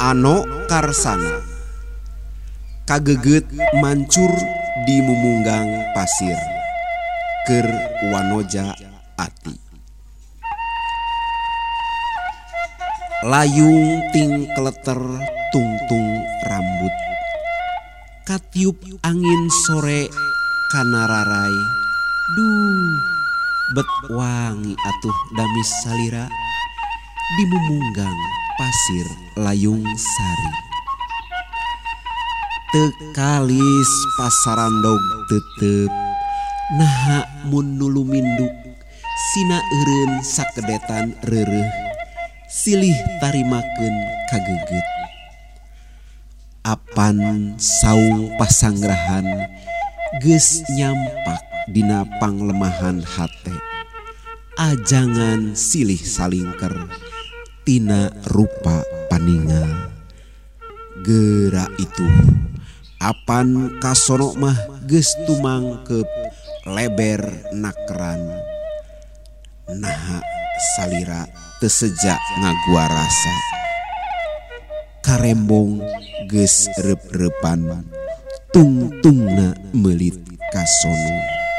Ano karsana kageget mancur di mumunggang pasir keur wanoja ati. Layung ting kleter tungtung rambut katiup angin sore kana rarai. Duh, bet wangi atuh damis salira di mumunggang pasir layung sari. Tekalis pasarandog tetep naha mun nulu minduk sina eureun sakedetan reureuh silih tarimakeun kageget. Apan saung pasanggrahan geus nyampak dina panglemahan hate. Ajangan silih salingker tina rupa paningal. Geura itu apan kasono mah geus tumangkep leber nakran. Naha salira teu seja ngagua rasa. Karembong geus reup-reupan tungtungna meulit kasono.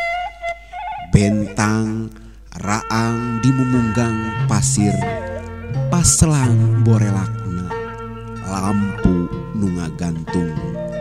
Bentang raang di mumunggang pasir paselang borelakna lampu nu ngagantung